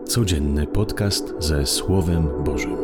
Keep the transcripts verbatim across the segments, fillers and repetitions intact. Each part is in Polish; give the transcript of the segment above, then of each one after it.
Codzienny podcast ze Słowem Bożym.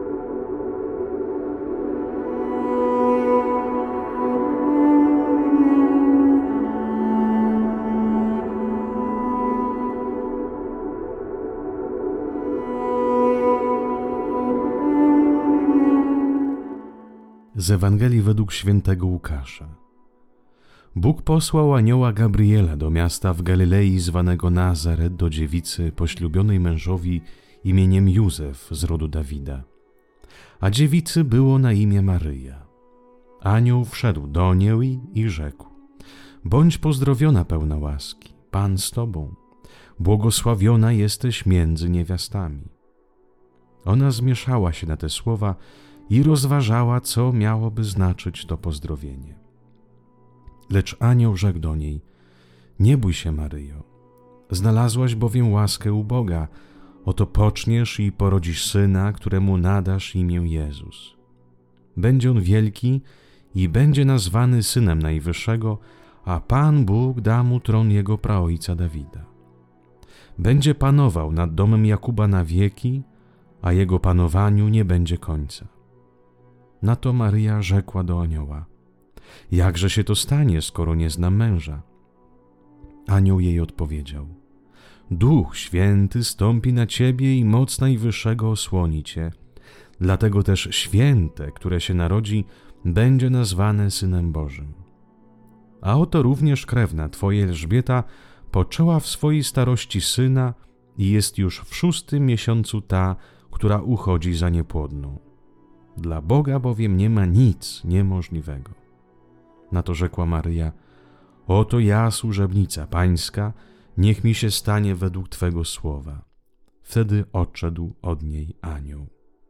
Z Ewangelii według świętego Łukasza. Bóg posłał anioła Gabriela do miasta w Galilei zwanego Nazaret do dziewicy poślubionej mężowi imieniem Józef z rodu Dawida. A dziewicy było na imię Maryja. Anioł wszedł do niej i rzekł: Bądź pozdrowiona, pełna łaski, Pan z tobą, błogosławiona jesteś między niewiastami. Ona zmieszała się na te słowa i rozważała, co miałoby znaczyć to pozdrowienie. Lecz anioł rzekł do niej: Nie bój się, Maryjo, znalazłaś bowiem łaskę u Boga. Oto poczniesz i porodzisz syna, któremu nadasz imię Jezus. Będzie on wielki i będzie nazwany Synem Najwyższego, a Pan Bóg da mu tron jego praojca Dawida. Będzie panował nad domem Jakuba na wieki, a jego panowaniu nie będzie końca. Na to Maryja rzekła do anioła: Jakże się to stanie, skoro nie znam męża? Anioł jej odpowiedział: Duch Święty stąpi na ciebie i moc Najwyższego osłoni cię. Dlatego też święte, które się narodzi, będzie nazwane Synem Bożym. A oto również krewna twoja Elżbieta poczęła w swojej starości syna i jest już w szóstym miesiącu ta, która uchodzi za niepłodną. Dla Boga bowiem nie ma nic niemożliwego. Na to rzekła Maryja: Oto ja, służebnica Pańska, niech mi się stanie według Twego słowa. Wtedy odszedł od niej anioł.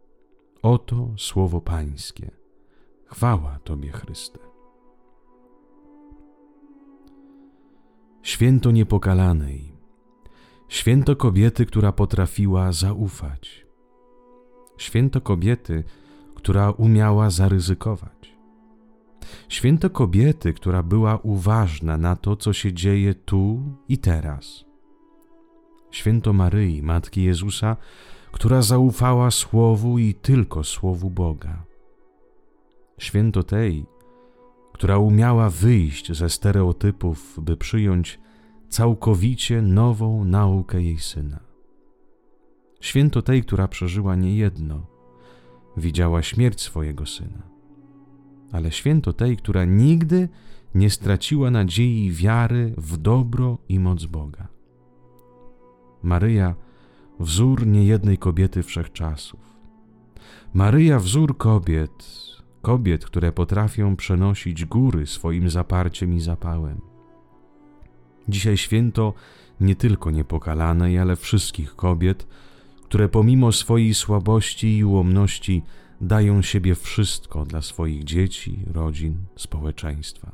Oto słowo Pańskie. Chwała Tobie, Chryste. Święto Niepokalanej. Święto kobiety, która potrafiła zaufać. Święto kobiety, która umiała zaryzykować. Święto kobiety, która była uważna na to, co się dzieje tu i teraz. Święto Maryi, Matki Jezusa, która zaufała Słowu i tylko Słowu Boga. Święto tej, która umiała wyjść ze stereotypów, by przyjąć całkowicie nową naukę jej Syna. Święto tej, która przeżyła niejedno, widziała śmierć swojego Syna. Ale święto tej, która nigdy nie straciła nadziei i wiary w dobro i moc Boga. Maryja, wzór niejednej kobiety wszechczasów. Maryja, wzór kobiet, kobiet, które potrafią przenosić góry swoim zaparciem i zapałem. Dzisiaj święto nie tylko Niepokalanej, ale wszystkich kobiet, które pomimo swojej słabości i ułomności dają siebie wszystko dla swoich dzieci, rodzin, społeczeństwa.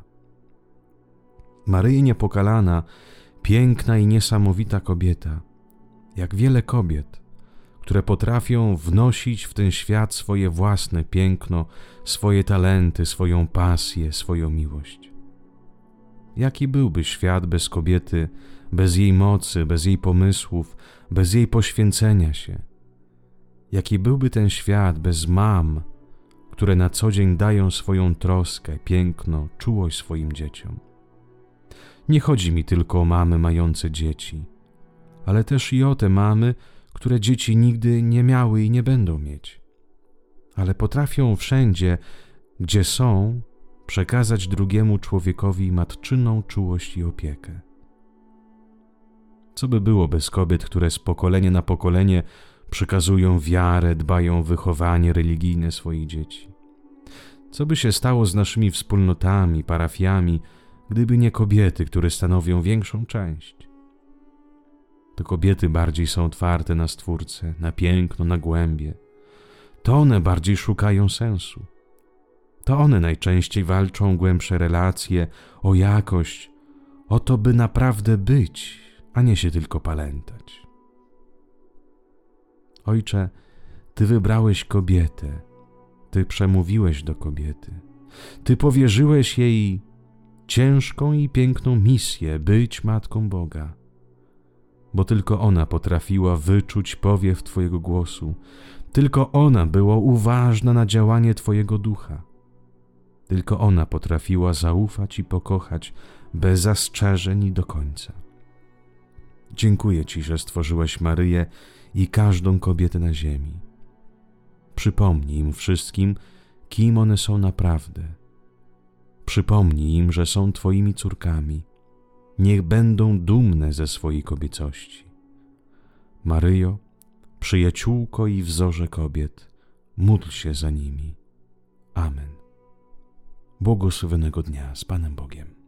Maryja Niepokalana, piękna i niesamowita kobieta, jak wiele kobiet, które potrafią wnosić w ten świat swoje własne piękno, swoje talenty, swoją pasję, swoją miłość. Jaki byłby świat bez kobiety, bez jej mocy, bez jej pomysłów, bez jej poświęcenia się? Jaki byłby ten świat bez mam, które na co dzień dają swoją troskę, piękno, czułość swoim dzieciom? Nie chodzi mi tylko o mamy mające dzieci, ale też i o te mamy, które dzieci nigdy nie miały i nie będą mieć. Ale potrafią wszędzie, gdzie są, przekazać drugiemu człowiekowi matczyną czułość i opiekę. Co by było bez kobiet, które z pokolenia na pokolenie przekazują wiarę, dbają o wychowanie religijne swoich dzieci? Co by się stało z naszymi wspólnotami, parafiami, gdyby nie kobiety, które stanowią większą część? To kobiety bardziej są otwarte na Stwórcę, na piękno, na głębie. To one bardziej szukają sensu. To one najczęściej walczą o głębsze relacje, o jakość, o to, by naprawdę być, a nie się tylko palętać. Ojcze, Ty wybrałeś kobietę, Ty przemówiłeś do kobiety, Ty powierzyłeś jej ciężką i piękną misję być Matką Boga. bo tylko ona potrafiła wyczuć powiew Twojego głosu, tylko ona była uważna na działanie Twojego ducha. Tylko ona potrafiła zaufać i pokochać bez zastrzeżeń i do końca. Dziękuję Ci, że stworzyłeś Maryję i każdą kobietę na ziemi. Przypomnij im wszystkim, kim one są naprawdę. Przypomnij im, że są Twoimi córkami. Niech będą dumne ze swojej kobiecości. Maryjo, przyjaciółko i wzorze kobiet, módl się za nimi. Amen. Błogosławionego dnia z Panem Bogiem.